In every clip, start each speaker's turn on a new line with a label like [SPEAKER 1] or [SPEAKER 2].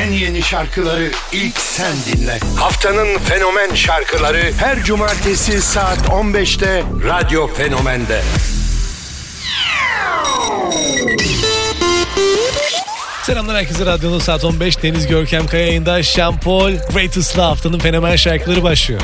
[SPEAKER 1] en yeni şarkıları ilk sen dinle. Haftanın fenomen şarkıları her cumartesi saat 15'te Radyo Fenomen'de.
[SPEAKER 2] Selamlar herkese, radyonun saat 15, Deniz Görkem Kaya yayında. Sean Paul, Greatest Love, haftanın fenomen şarkıları başlıyor.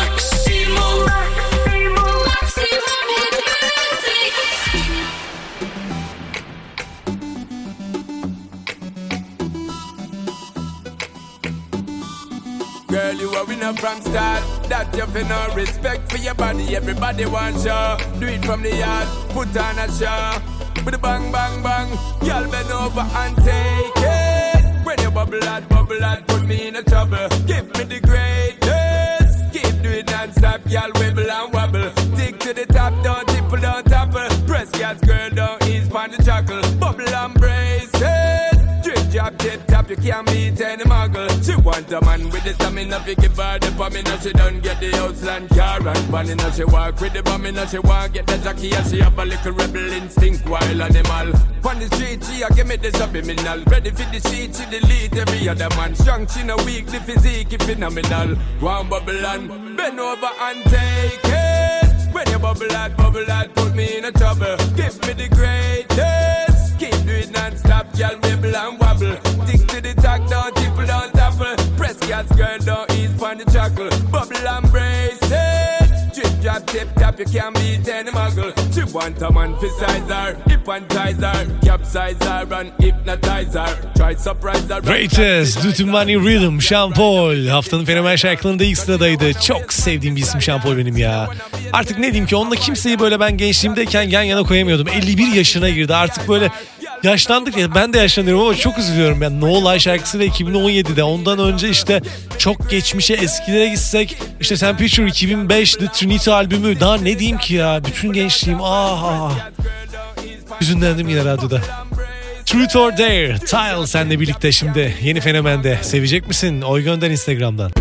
[SPEAKER 3] Girl, you are winner from start. That you feel no respect for your body. Everybody wants you. Do it from the yard. Put on a show. With a bang, bang, bang. Girl, bend over and take it. When you bubble out, put me in a trouble. Give me the greatest. Keep doing non-stop, girl, wibble and wobble. Stick to the top, don't tipple, don't topple. Press gas, girl, don't ease on the chuckle. Bubble and brace it. Drip, drop, tip, top, you can't beat any muggle. She want a man with the stamina, fi give her the pamina. She don't get the Outland car and vanilla. She walk with the bumina, she want get the jockey. And she have a little rebel instinct, wild animal. On the street, she a give me the subliminal. Ready for the sheet, she delete every other man. Strong, she no weak, the physique is phenomenal. One bubble and bend over and take it. When you bubble out, put me in a trouble. Give me the greatest. Keep doing non-stop, girl, wibble and wobble. Stick to the tack, don't tipple, don't topple. Press gas, girl, don't ease on the chuckle. Bubble and brace it. Drip, drop, tip, tap, you can't beat any muggle. She want a man for size her, hypnotize her, capsize her and hypnotize her. Try surprise her.
[SPEAKER 2] Greatest, Do To Money Rhythm, Sean Paul. Haftanın fenomen şarkılarında ilk sıradaydı. Çok sevdiğim bir isim Sean Paul benim ya. Artık ne diyeyim ki, onunla kimseyi böyle ben gençliğimdeyken yan yana koyamıyordum. 51 yaşına girdi artık, böyle yaşlandık ya, ben de yaşlanıyorum ama çok üzülüyorum. Yani No Lie şarkısı da 2017'de, ondan önce işte çok geçmişe, eskilere gitsek işte Temperature 2005, The Trinity albümü, daha ne diyeyim ki ya, bütün gençliğim hüzünlendim yine radyoda. Truth or Dare, Tile senle birlikte şimdi yeni fenomende. Sevecek misin? Oy gönder Instagram'dan.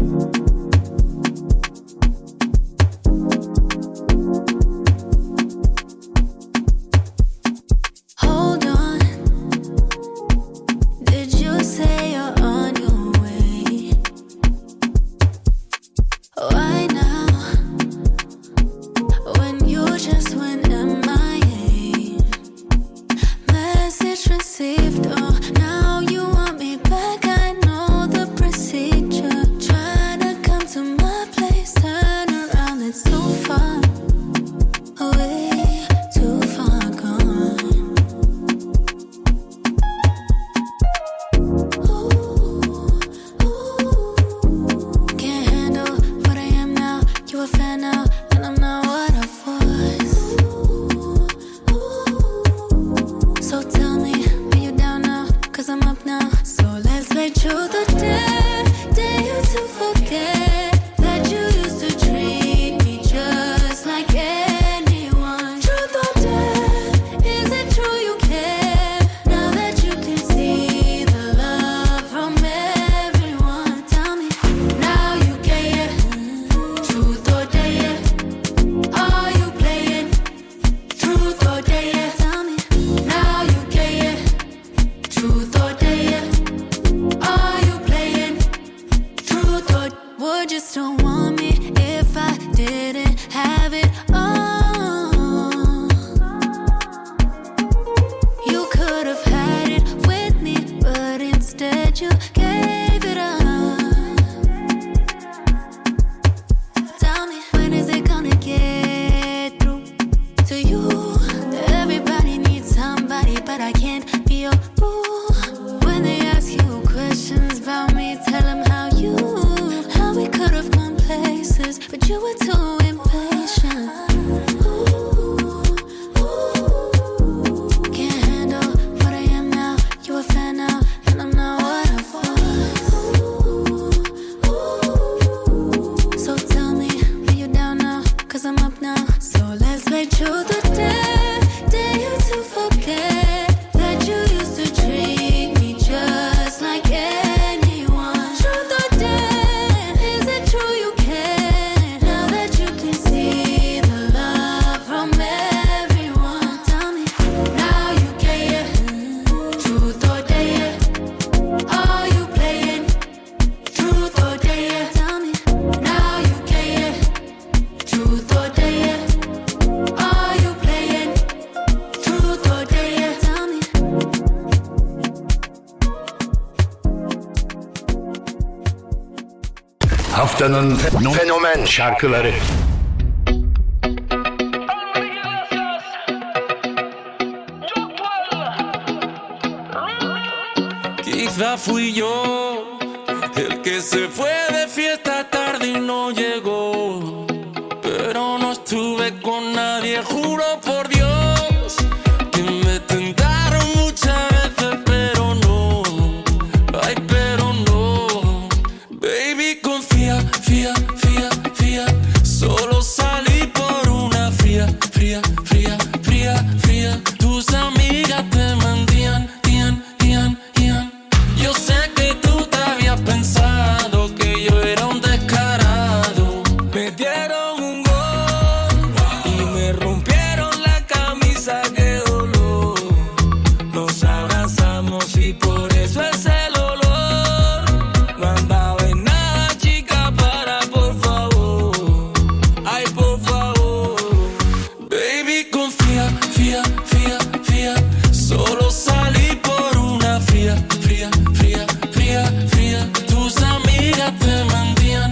[SPEAKER 4] Can't handle what I am now. You a fan now, and I'm not what I was.
[SPEAKER 1] Haftanın fenomen şarkıları.
[SPEAKER 4] Quizá fui yo el que se fue de fiesta tarde y no llegó, pero no estuve con nadie, juro por Dios que me tentaron muchas veces, pero no, ay, pero no. Baby, confía, fía, fía, fía, solo salí por una fría, fría, fría, fría, fría. Tus amigas te mentían, yo sé que tú te habías pensado que yo era un descarado. Me dieron un gol y me rompieron la camisa, qué dolor. Nos abrazamos y por eso es el olor. No andaba en nada, chica, para, por favor. Ay, por favor. Baby, confía, fía, fía, fía. Solo salí por una fría, fría, fría, fría, fría. Tus amigas te mentían,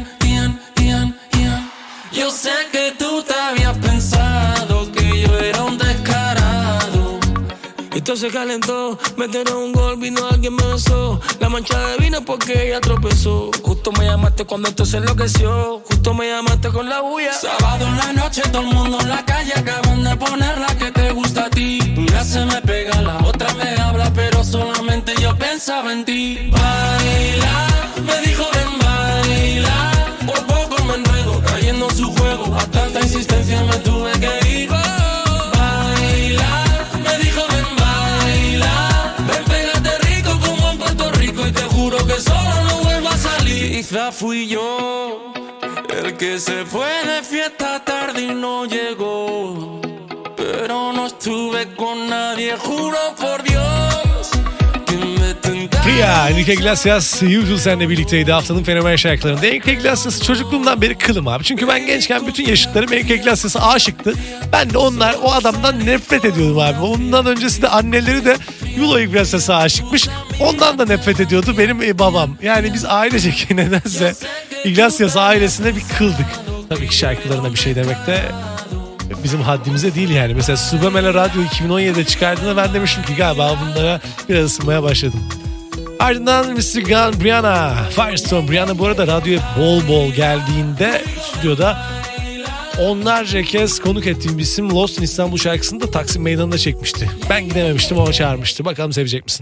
[SPEAKER 4] yo sé que tú te habías pensado que yo era un descarado. Esto se calentó, metieron un gol, vino alguien me besó. La mancha de vino porque ella tropezó. Justo me llamaste cuando esto se enloqueció. Justo me llamaste con la bulla. Sábado en la noche, todo el mundo en la calle. Acaban de poner la que te gusta a ti. Una se me pega, la otra me habla, pero solamente yo pensaba en ti. Baila, me dijo ven baila. Por poco me enredo, cayendo en su juego. A tanta insistencia me tuve que ir. Baila, me dijo ven baila. Ven, pégate rico como en Puerto Rico y te juro que solo no vuelvo a salir. Quizá fui yo el que se fue de fiesta tarde y no llegó, pero no estuve con nadie, juro por Dios que me tentaron.
[SPEAKER 2] Fria, Enrique Iglesias, Usual seninle birlikteydi haftanın fenomen şarkılarında. Enrique Iglesias'ı çocukluğumdan beri kılım abi. Çünkü ben gençken bütün yaşıtlarım Enrique Iglesias'a aşıktı. Ben de o adamdan nefret ediyordum abi. Ondan öncesi de anneleri de Julio Iglesias'a aşıkmış. Ondan da nefret ediyordu benim babam. Yani biz ailecek nedense Iglesias ailesine bir kıldık. Tabii ki şarkılarına bir şey demek de bizim haddimize değil yani. Mesela Subamela Radyo 2017'de çıkardığında ben demiştim ki galiba bunlara biraz ısınmaya başladım. Ardından Mr. Gun Brianna, Firestone Brianna bu arada radyoya bol bol geldiğinde stüdyoda onlarca kez konuk ettiğim bir isim. Lost in İstanbul şarkısını da Taksim Meydanı'nda çekmişti. Ben gidememiştim ama çağırmıştı. Bakalım sevecek misin?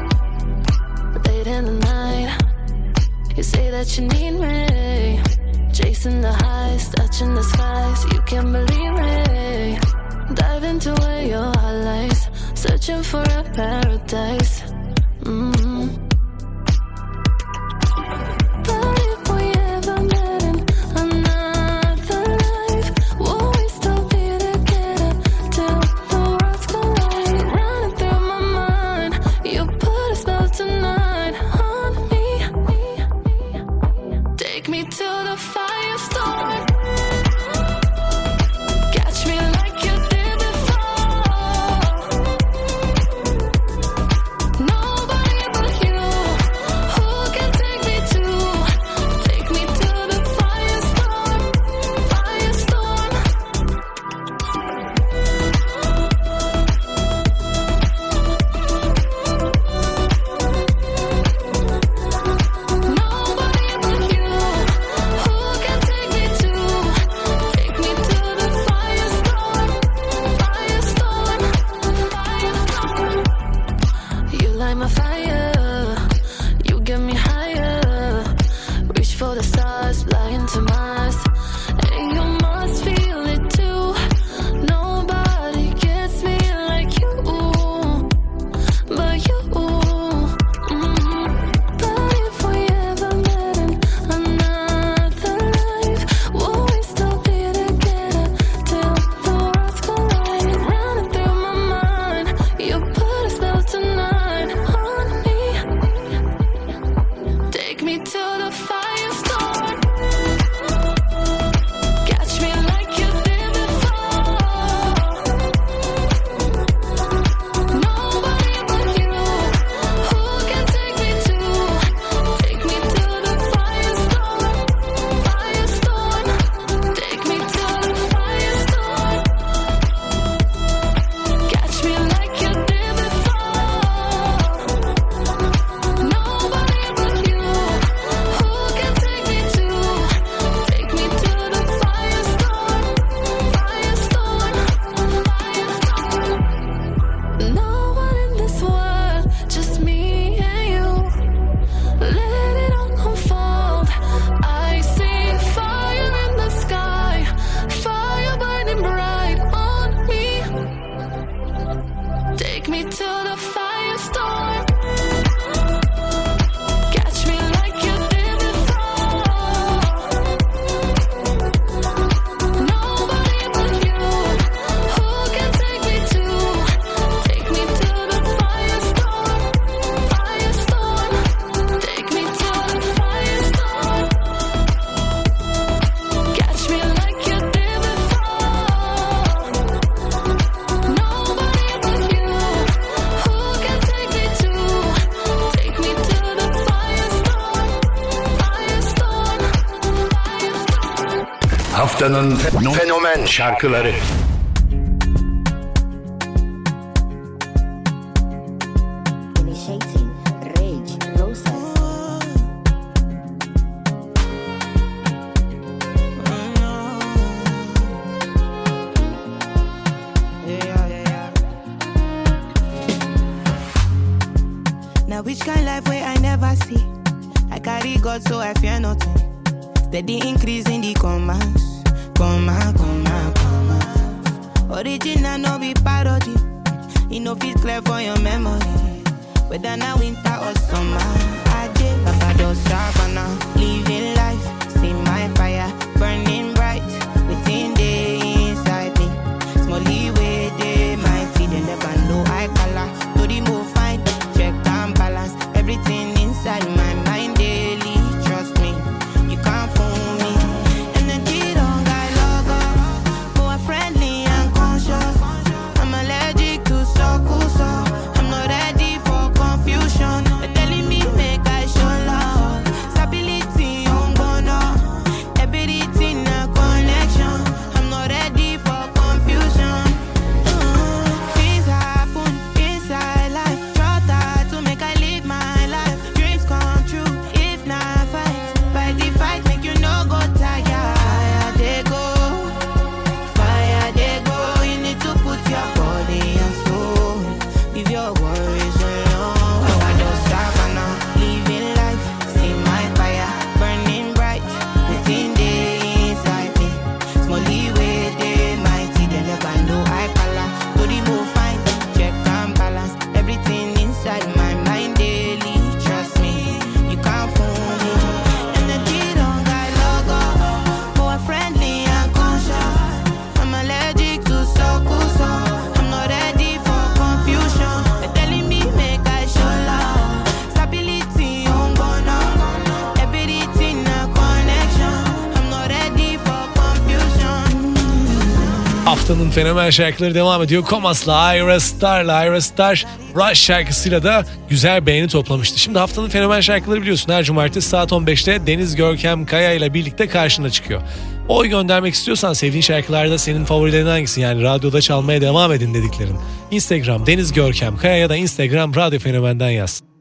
[SPEAKER 5] Chasing the highs, touching the skies, you can't believe me. Dive into where your heart lies, searching for a paradise. But if we ever met in another life, will we still be together till the worlds collide? Running through my mind, you put a spell tonight on me. Take me to the firestorm. Catch me like you did before. Nobody
[SPEAKER 1] Haftanın fenomen şarkıları.
[SPEAKER 6] Initiating rage process.
[SPEAKER 7] Now which kind life where I never see? I carry God so I fear nothing. Steady increase in the commas. Original no be parody. You know fit clear for your memory. Whether now winter or summer. I did Barbados, Savannah. Living life, see my fire burning bright within the inside me. Smally way they mighty, they never know I color. To the move fine, check and balance everything inside my mind daily. Trust me, you can't fool me. Energy don't got logo, more friendly and conscious. I'm allergic to so I'm not ready for confusion. They're telling me make I show love. Stability on gonna everything a connection. I'm not ready for confusion. Things happen inside life. Try to make I live my life. Dreams come true if not fight the fight. Make you no go tired. Fire they go. You need to put your body and soul. Leave your worries alone. I just Savannah, living life. See my fire burning bright within the inside me. Smally way they mighty, they never know I color. To the move fine, check and balance everything inside my mind daily. Trust me, you can't fool me. Energy don't got logo, more friendly and conscious. I'm allergic to so I'm not ready for confusion. They're telling me make I show love. Stability on gonna everything a connection. I'm not ready for confusion.
[SPEAKER 2] Haftanın fenomen şarkıları devam ediyor. Komas'la Ira Star Rush şarkısıyla da güzel beğeni toplamıştı. Şimdi haftanın fenomen şarkıları biliyorsun her cumartesi saat 15'te Deniz Görkem Kaya ile birlikte karşına çıkıyor. Oy göndermek istiyorsan sevdiğin şarkılarda senin favorilerin hangisi, yani radyoda çalmaya devam edin dediklerin. Instagram Deniz Görkem Kaya ya da Instagram Radyo Fenomen'den yaz.